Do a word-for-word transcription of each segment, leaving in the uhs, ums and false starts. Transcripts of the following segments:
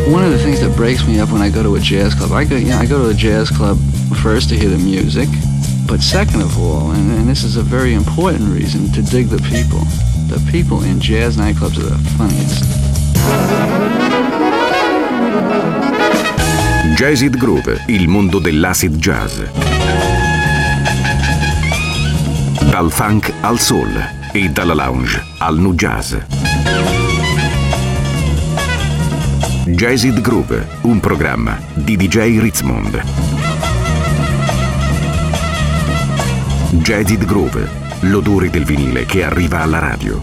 One of the things that breaks me up when I go to a jazz club, I go, you know, I go to a jazz club first to hear the music, but second of all, and, and this is a very important reason, to dig the people. The people in jazz nightclubs are the funniest. Jazzid Groove, il mondo dell'acid jazz. Dal funk al soul e dalla lounge al nu jazz. Jazzid Groove, un programma di D J Ritzmond. Jazzid Groove, l'odore del vinile che arriva alla radio.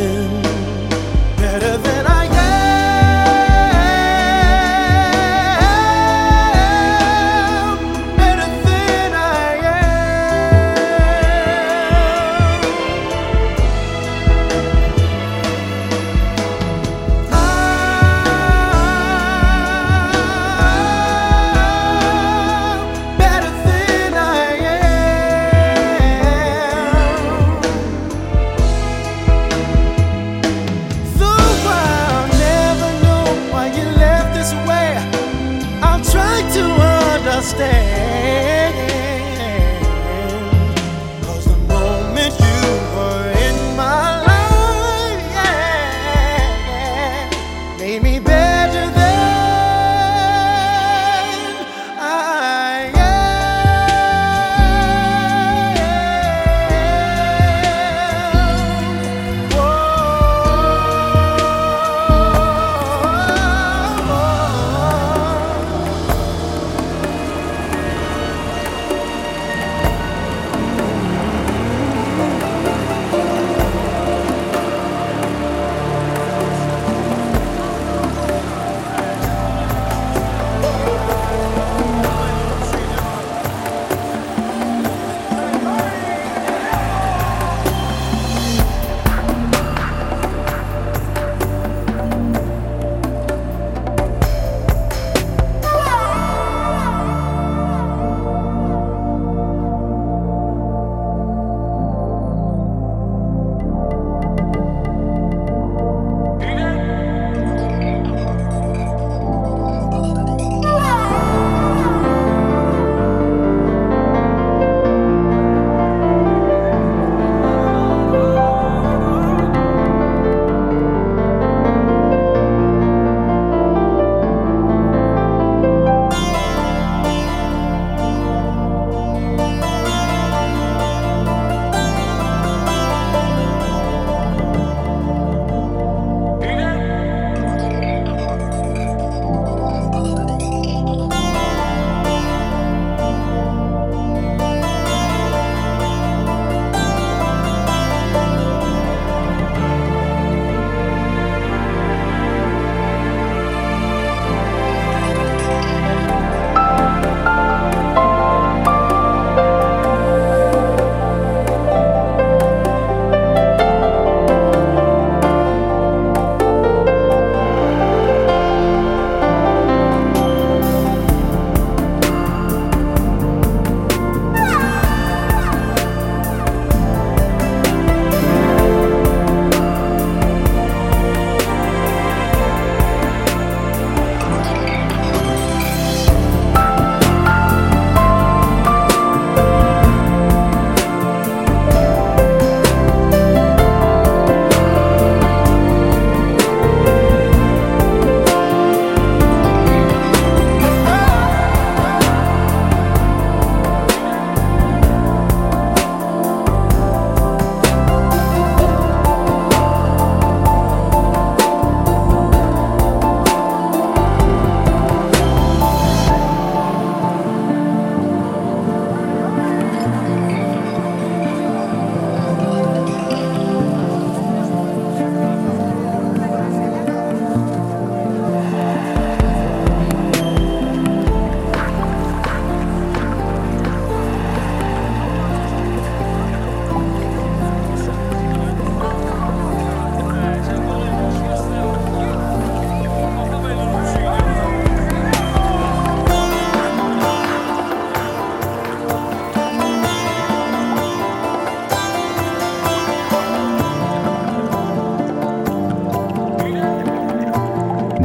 Better than I am.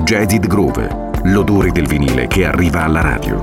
Jazzed Groove, l'odore del vinile che arriva alla radio.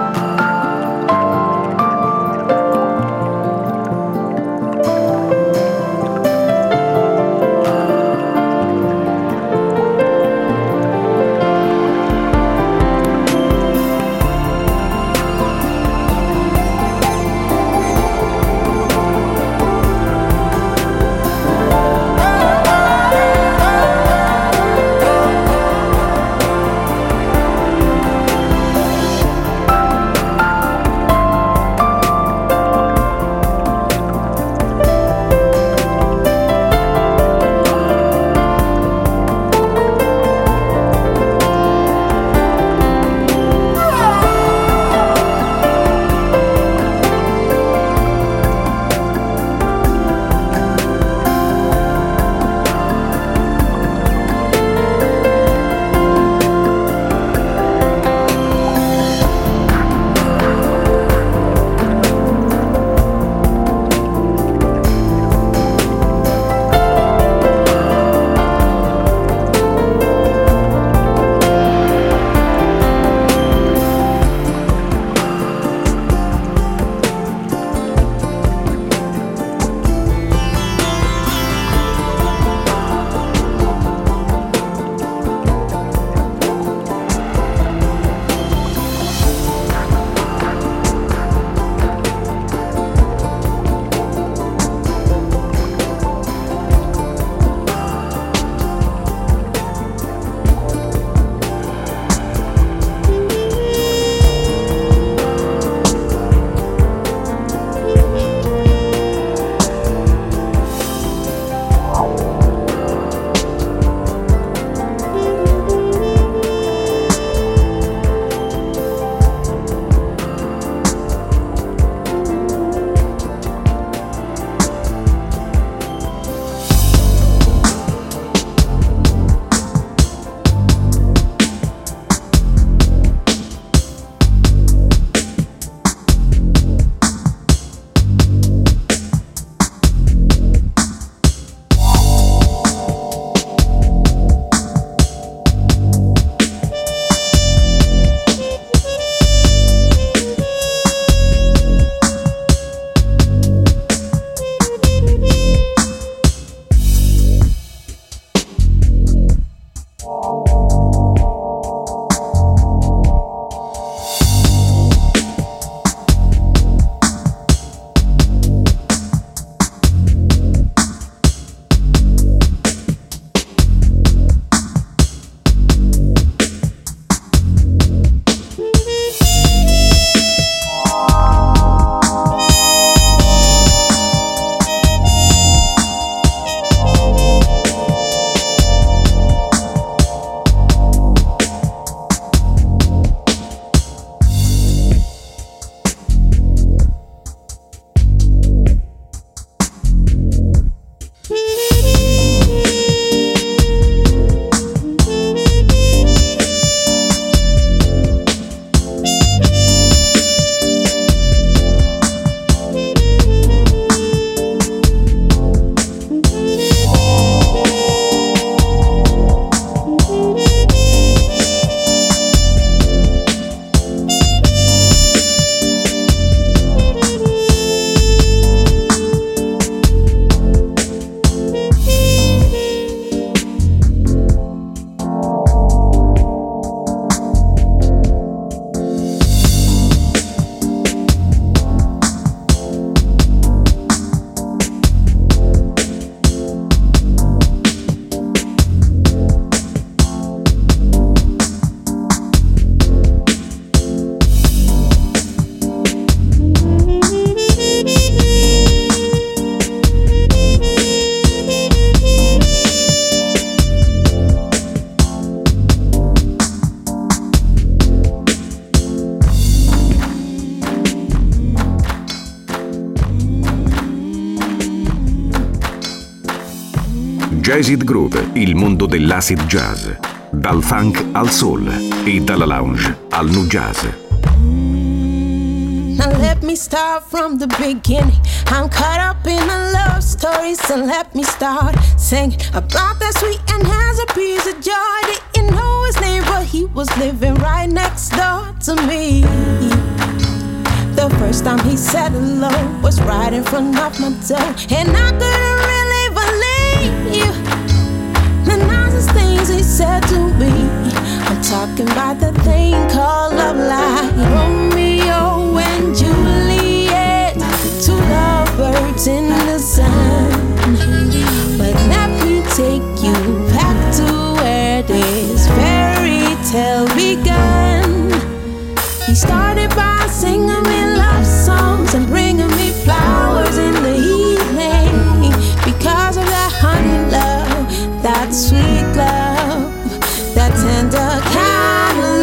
Jazzed Groove, il mondo dell'acid jazz, dal funk al soul e dalla lounge al nu jazz. Now let me start from the beginning. I'm caught up in a love story, so let me start singing about that sweet and has a piece of joy. Didn't know his name was living right next door to me. The first time he said hello was right in front of my door, and I couldn't really believe the nicest things he said to me. I'm talking about the thing called love, like Romeo and Juliet, two lovebirds in the sun. But let me take you back to where this fairy tale began. He started by singing me love songs and bringing me flowers in the evening. Because of that honey love, that sweet love, that tender kind of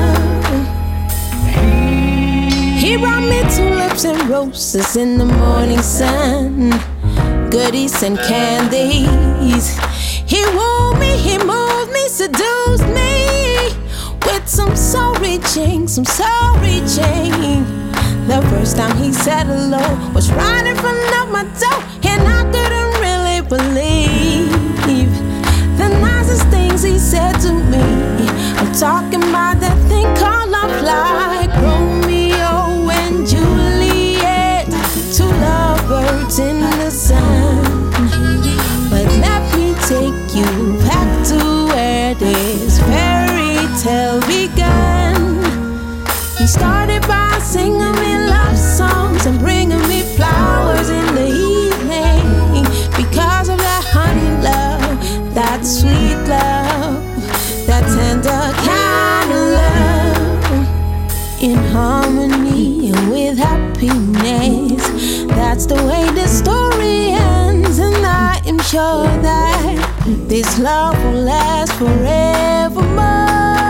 love. He brought me tulips and roses in the morning sun, goodies and candies. He wooed me, he moved me, seduced me with some soul reaching, some soul reaching. The first time he said hello was right in front of my door, and I couldn't really believe the nicest things he said to me. I'm talking about that thing called love, like Romeo and Juliet, two lovebirds in the sun. But let me take you back to where this fairy tale began. He started by singing me love songs and bringing me flowers in the evening. Because of that honey love, that sweet love, that tender kind of love. In harmony and with happiness, that's the way this story ends. And I am sure that this love will last forevermore.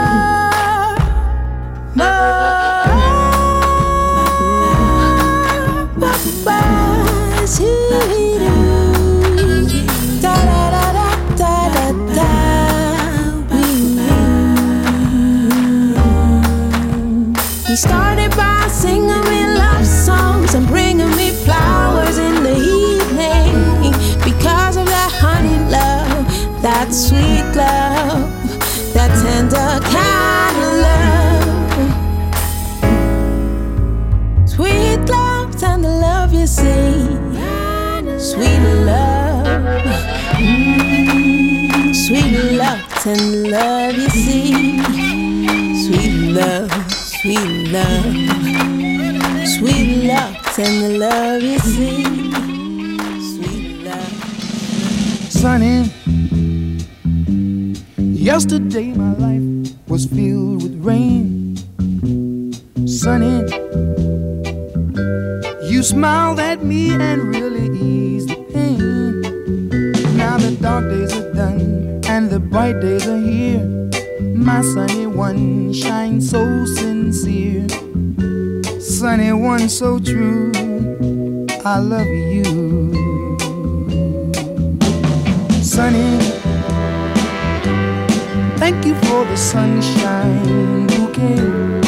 He started by singing me love songs and bringing me flowers in the evening. Because of that honey love, that sweet love, that tender kind of love. Sweet love, tender love, you see. Sweet love, mm, sweet love, tender love, you see. Sweet love, sweet love, sweet love, tender love, you see. Sweet love. Sunny, yesterday my life was filled with rain. Sunny, you smiled at me and really eased the pain. Now the dark days are done and the bright days are here. My sunny one shines so sincere. Sunny one so true, I love you. Sunny, thank you for the sunshine bouquet.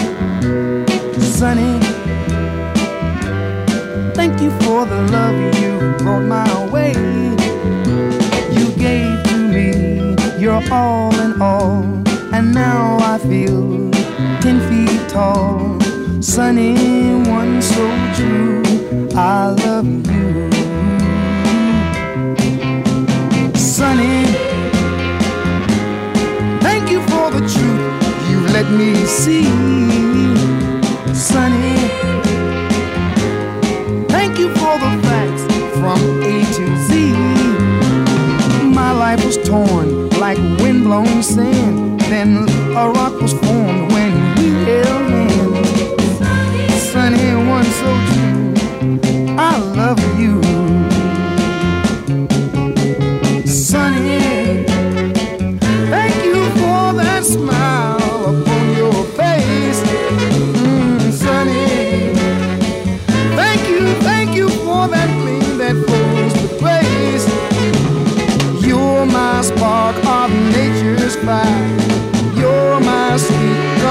Sunny, thank you for the love you brought my way. You gave to me your all in all, and now I feel ten feet tall. Sunny one so true, I love you. Sunny, thank you for the truth you let me see. Sunny, thank you for the facts from A to Z. My life was torn like windblown sand, then a rock was formed when we held hands. Sunny one so true, I love you. Sunny, thank you for that smile upon your face. Mm, Sunny, thank you, thank you for that gleam that flows with grace. You're my spark of nature's fire. You're my sweet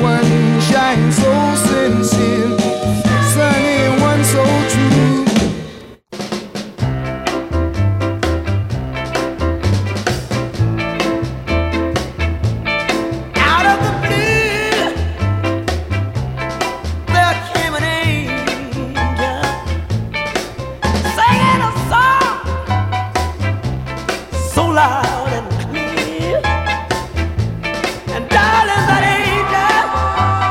one shine so sincere, sunny one so true. Out of the blue there came an angel singing a song so loud and clear. And darling, that angel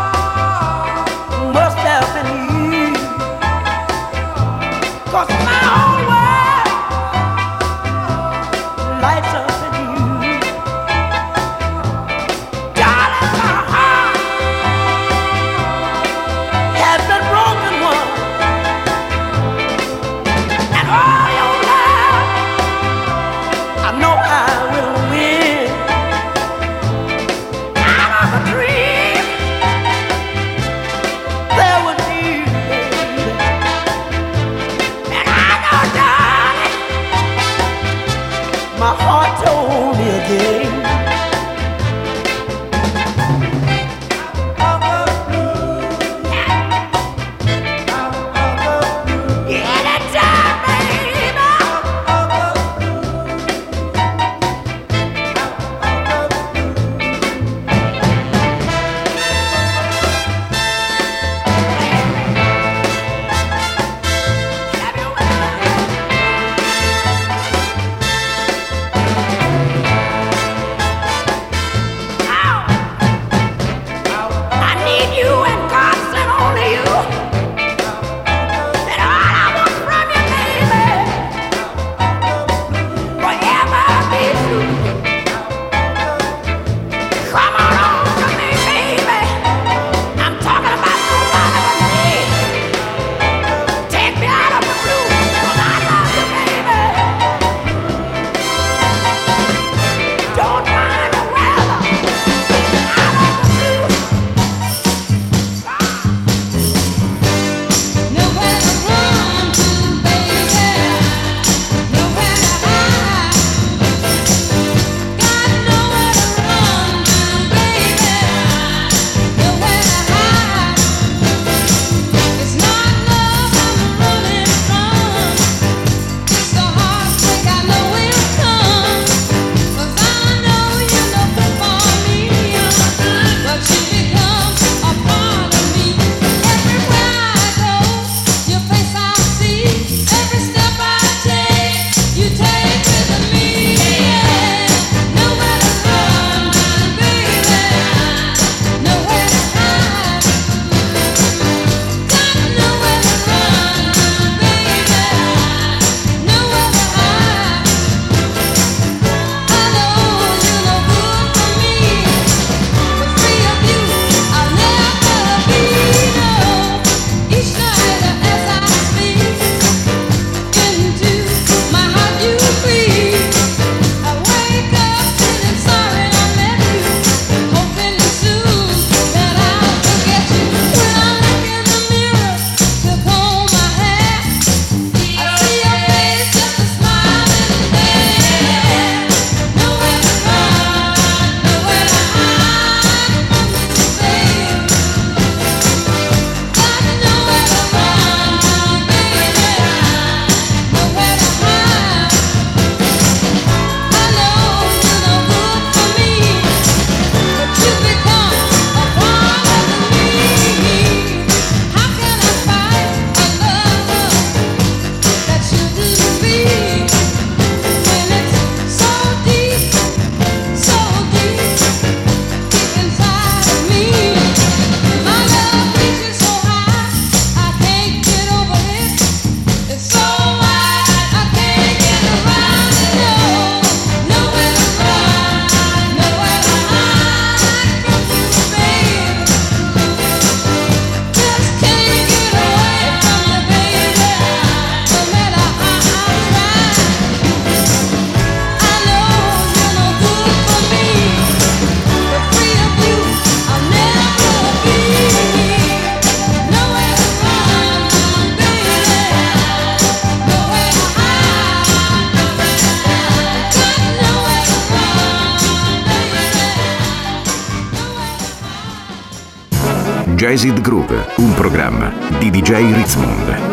Jazzed Groove, un programma di D J Ritzmond.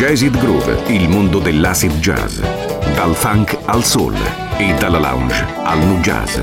Jazz It Groove, il mondo dell'acid jazz. Dal funk al soul e dalla lounge al nu jazz.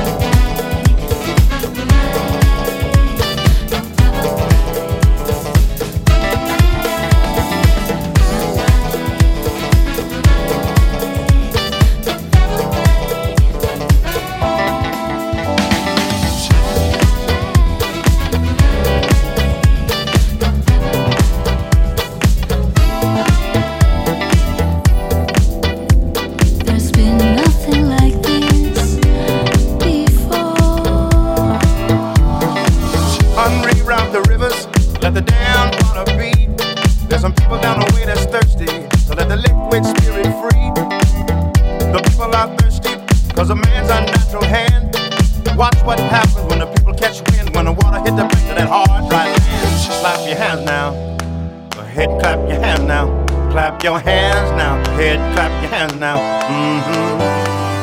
Your hands now, head clap your hands now. Mm-hmm.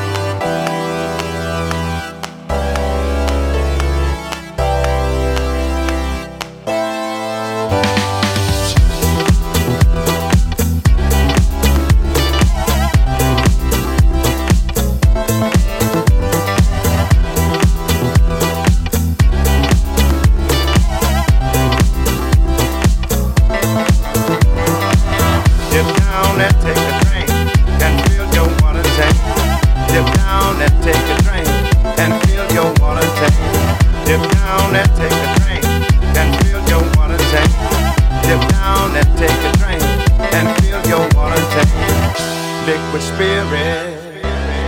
Liquid spirit,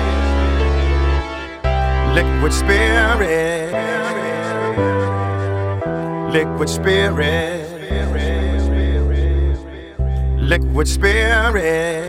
liquid spirit, liquid spirit, liquid spirit.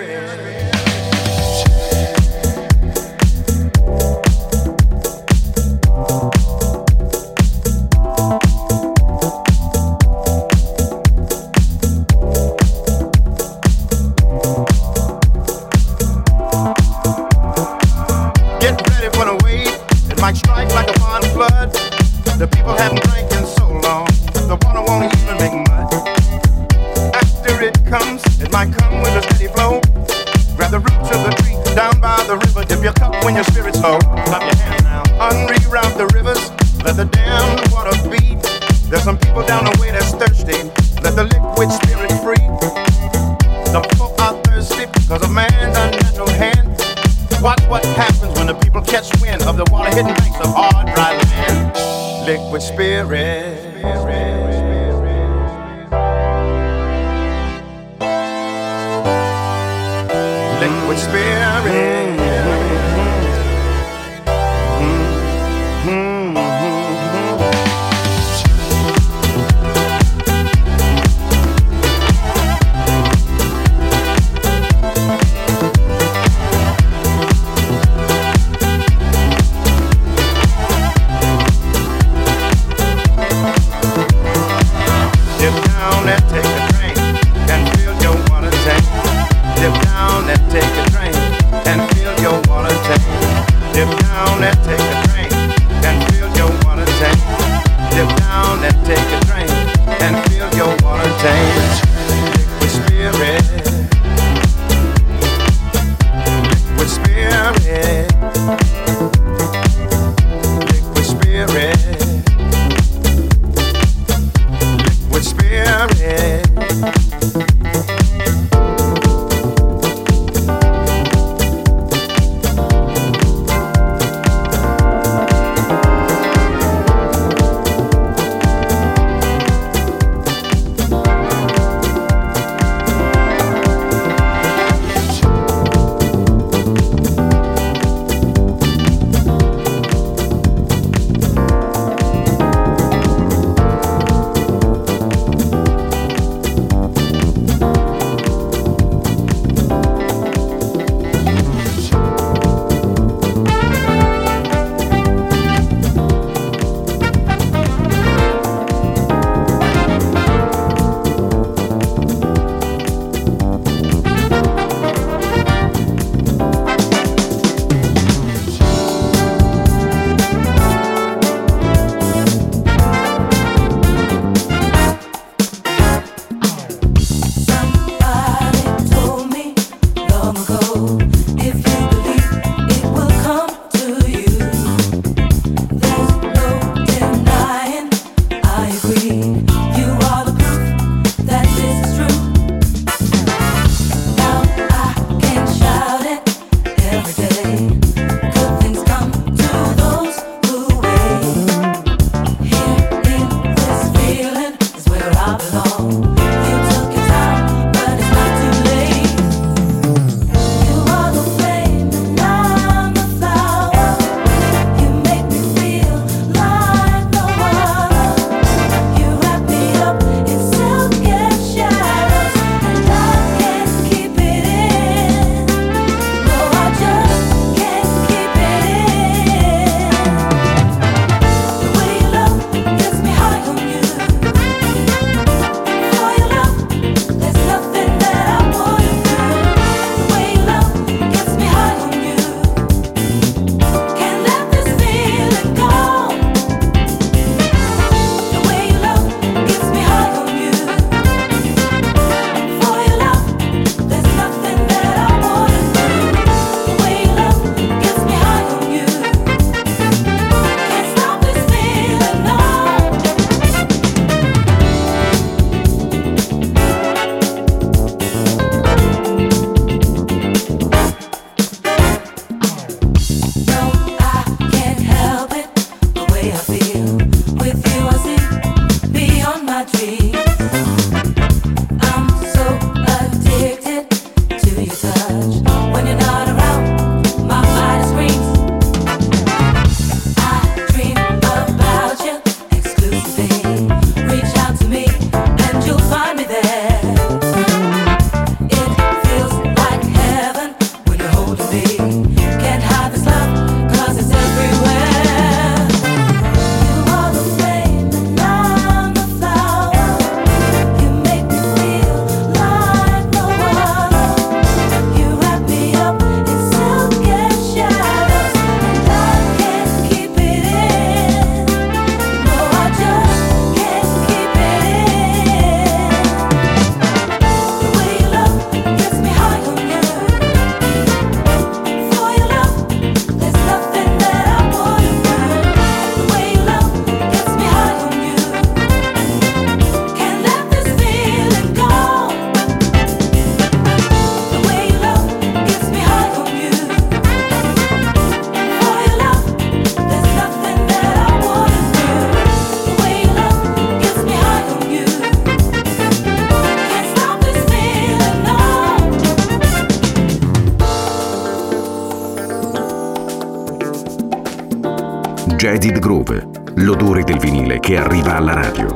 Liquid spirit, liquid spirit. Take a drink and Jaded Groove, l'odore del vinile che arriva alla radio.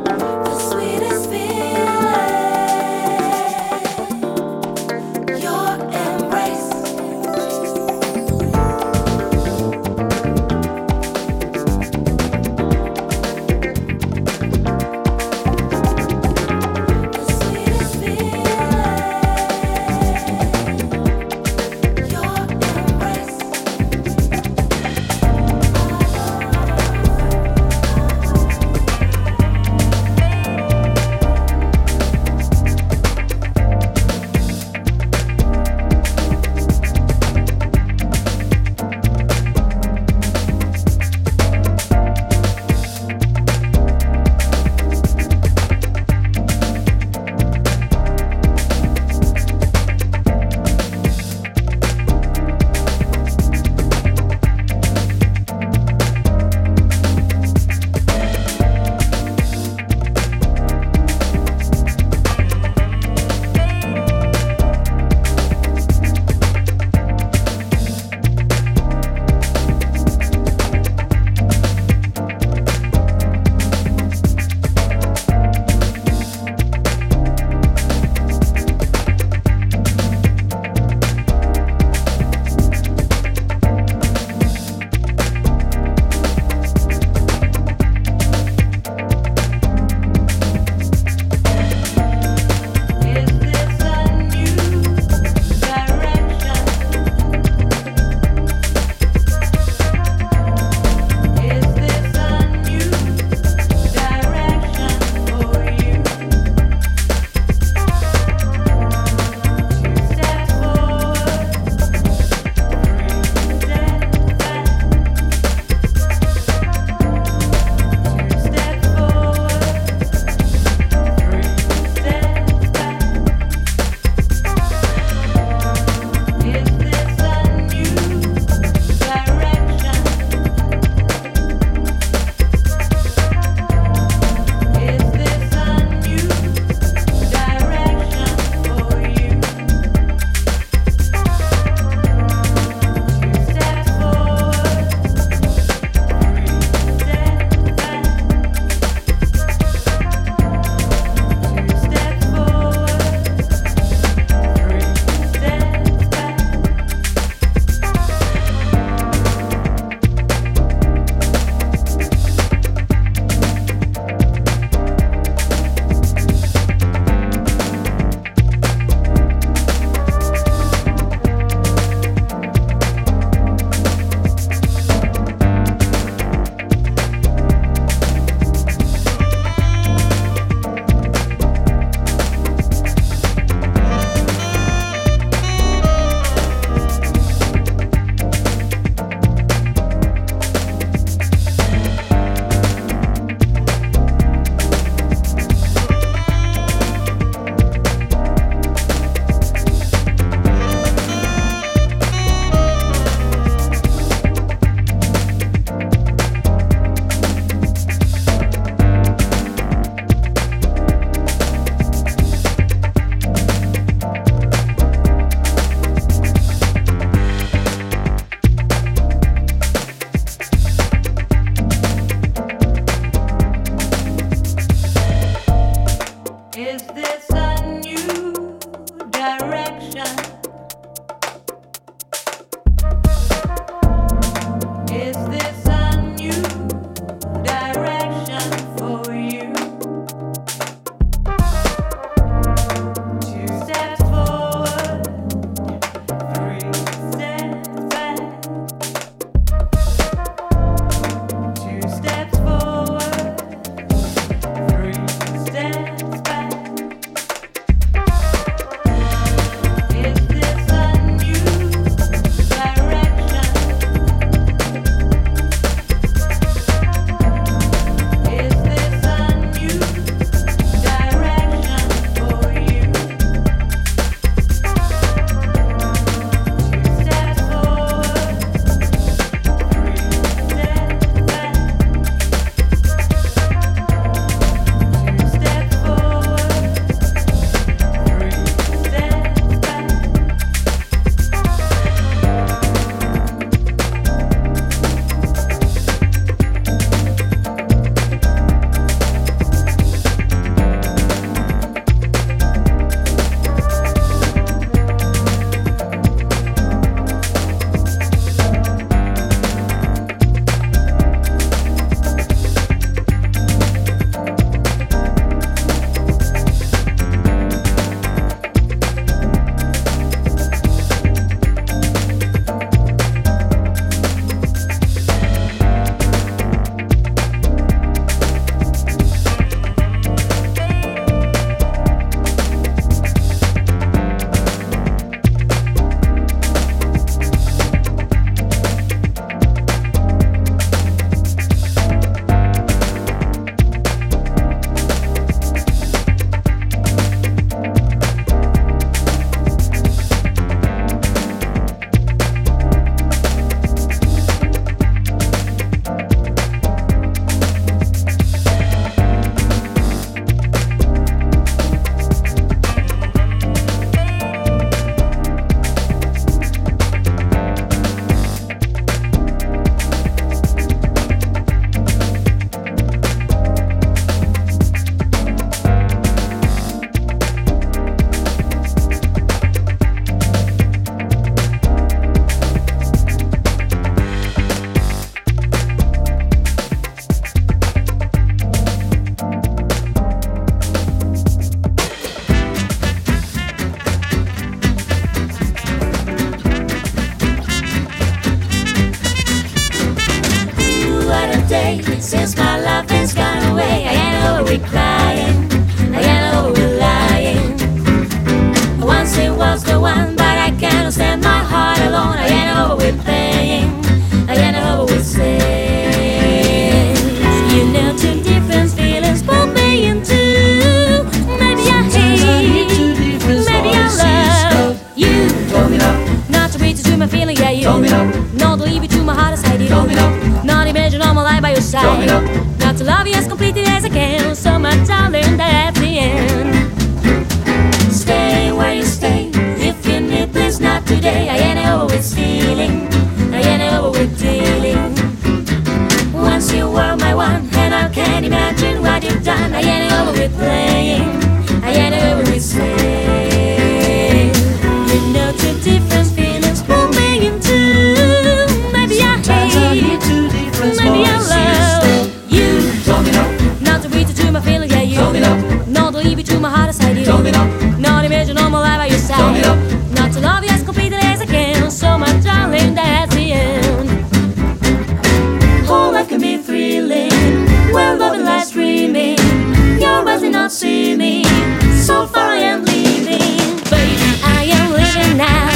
say, since my love has gone away, I ain't over with crying, I ain't over with lying. Once it was the one, but I can't stand my heart alone. I ain't over with playing, I ain't over with saying. You know two different feelings pull me in two. Maybe I hate, maybe I love you. Not to reach to my feeling, yeah, you. Not to leave you to my heart as I did. Not imagine all my life by your side. Not to love you as completely as I can. So much darling, that's the end. Stay where you stay. If you need, please not today. I ain't over with stealing, I ain't over with dealing. Once you were my one, and I can't imagine what you've done. I ain't over with playing, I ain't over with saying. You know two different feelings pull me in two. Maybe I hate, maybe I love you. Not to reach to my feelings, yeah, you. Not to leave you to my heart as I did. Not imagine all my life by your side. Not to love you as completely as I can. So my darling, that's the end. Whole life can be thrilling, where loving lies dreaming. Your eyes did not see me, so far I am leaving. Baby, I am leaving now.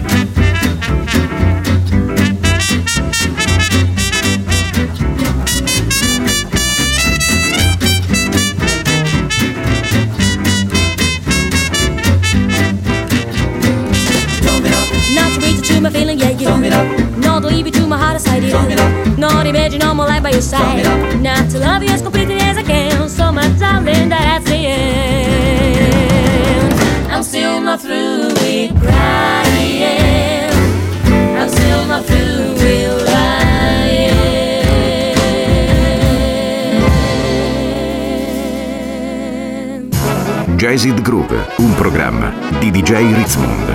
My feeling, yeah, you. Not to leave you to my heart as I did. Not imagine all my life by your side. Not to love you as completely as I can. So my darling, that's the end. I'm still not through with crying. I'm still not through with lying. Jazzed Groove, un programma di D J Ritzmond.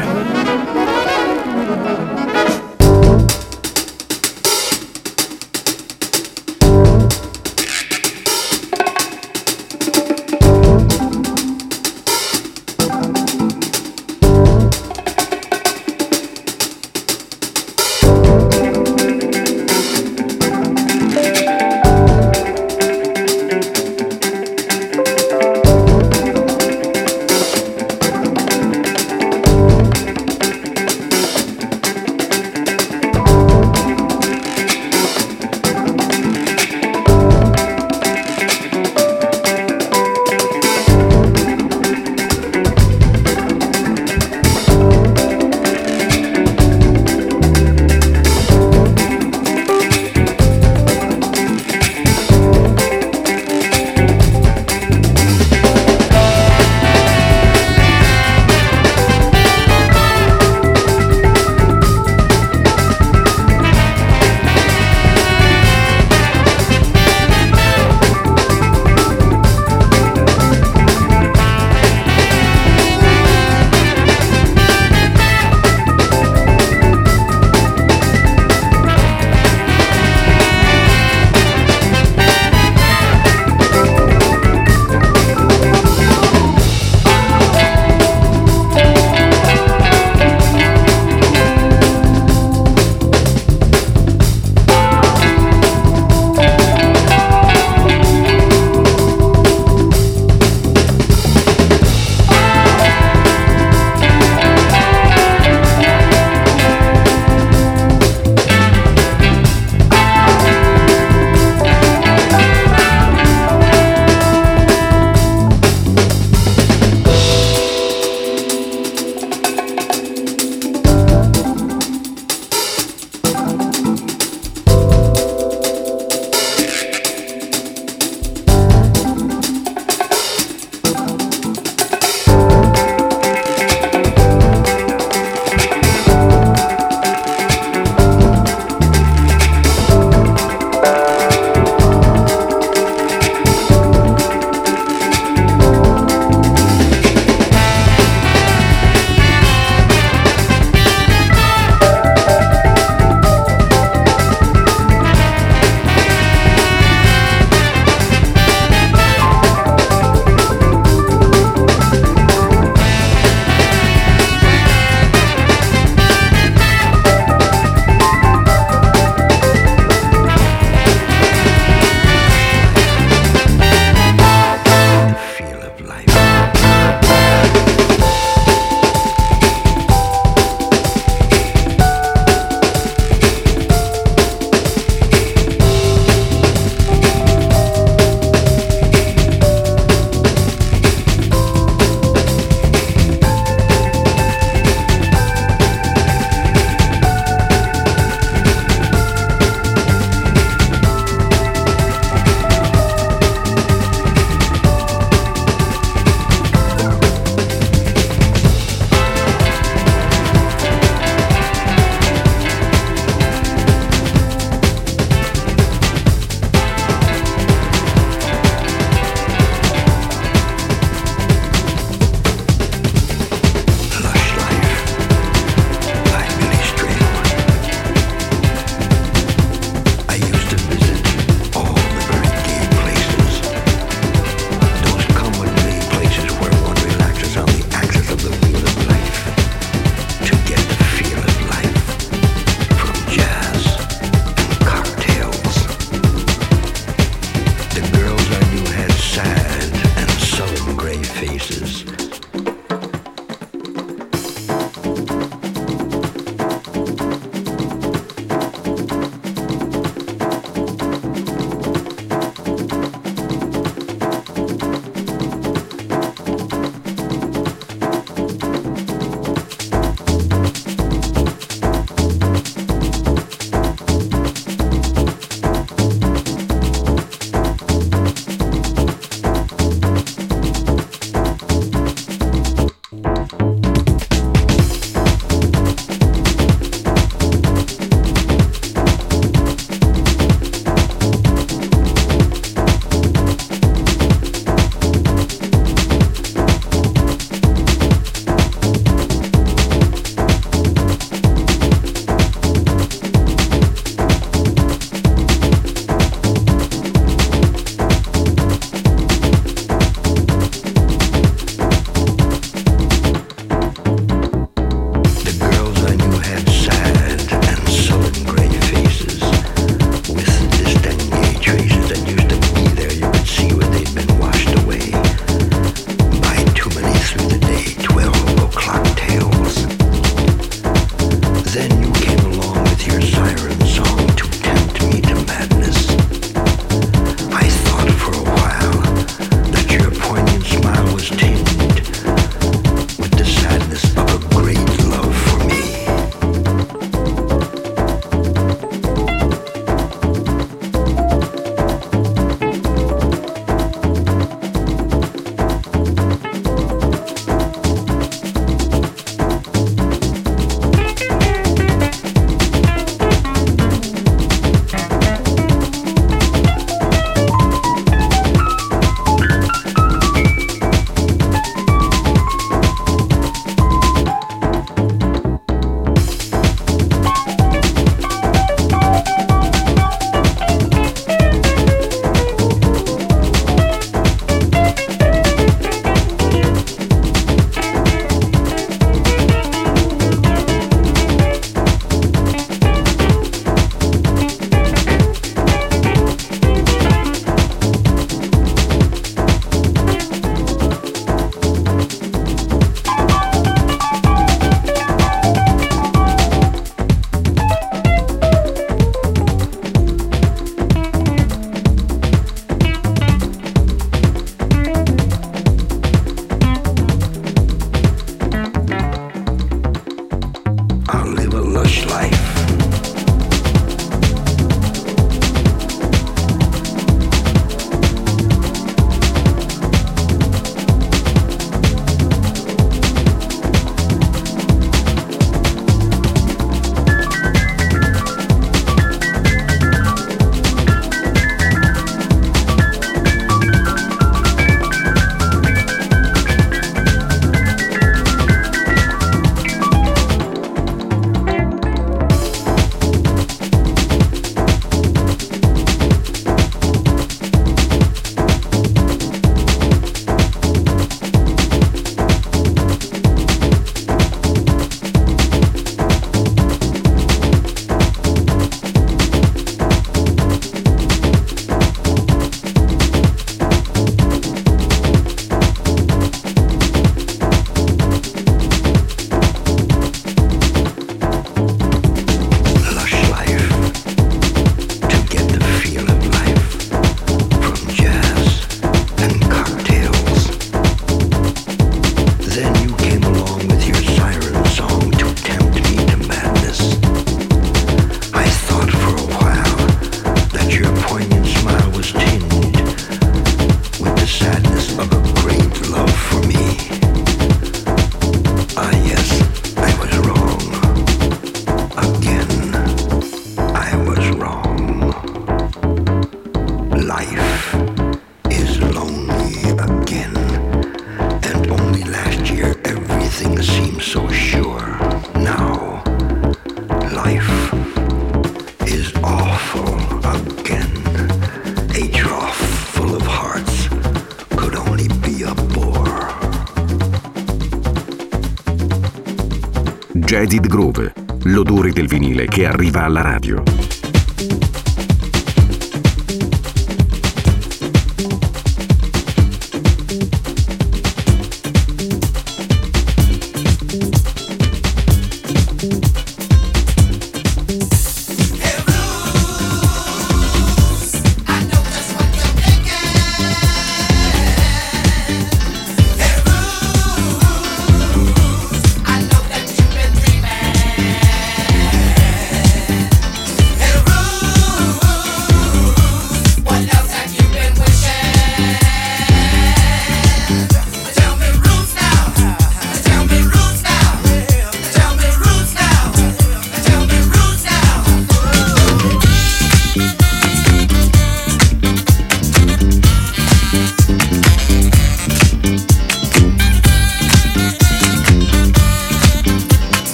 Jaded Groove, l'odore del vinile che arriva alla radio.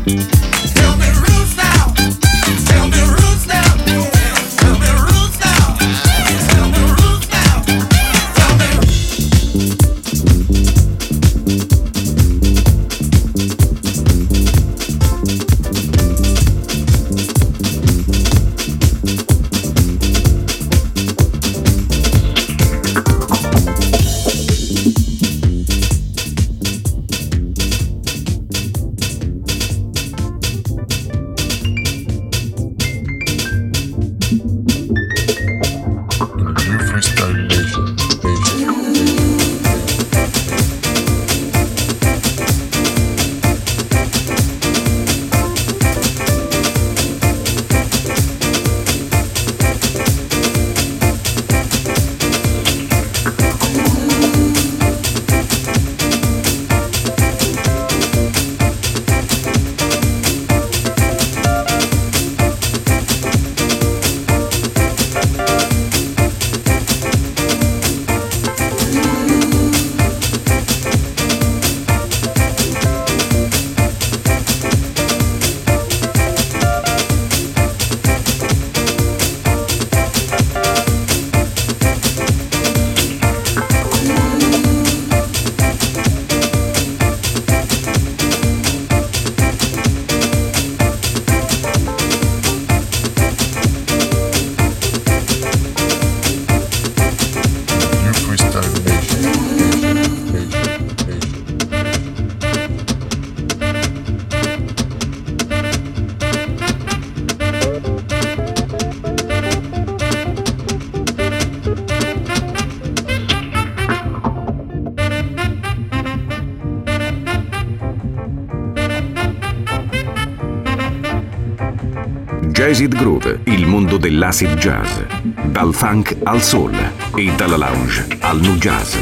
Jazzed Groove, il mondo dell'acid jazz, dal funk al soul e dalla lounge al nu jazz.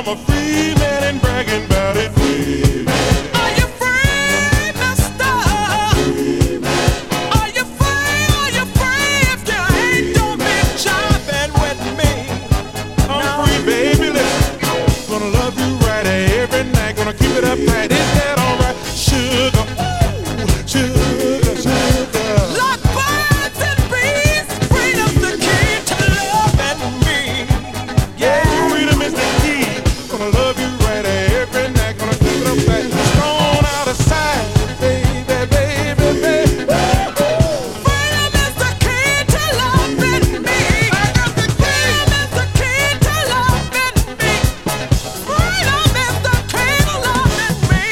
I'm a free man and bragging about it. Free man. Are you free, mister? Free man. Are you free? Are you free? If you ain't, don't be jiving with me. I'm no. free, baby. Listen, gonna love you right every night. Gonna keep it up tight. Is that alright? Sugar, ooh, sugar, sugar. Like birds and bees, freedom's the key to loving me. Yeah, freedom is the key. Gonna love you right every night. Gonna keep it up tight. Strong out of sight, baby, baby, baby. Freedom is the key to loving me. Freedom is the key to loving me. Freedom is the key to loving me.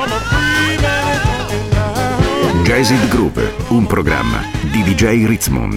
Jazz It Groove, un programma di D J Ritzmond.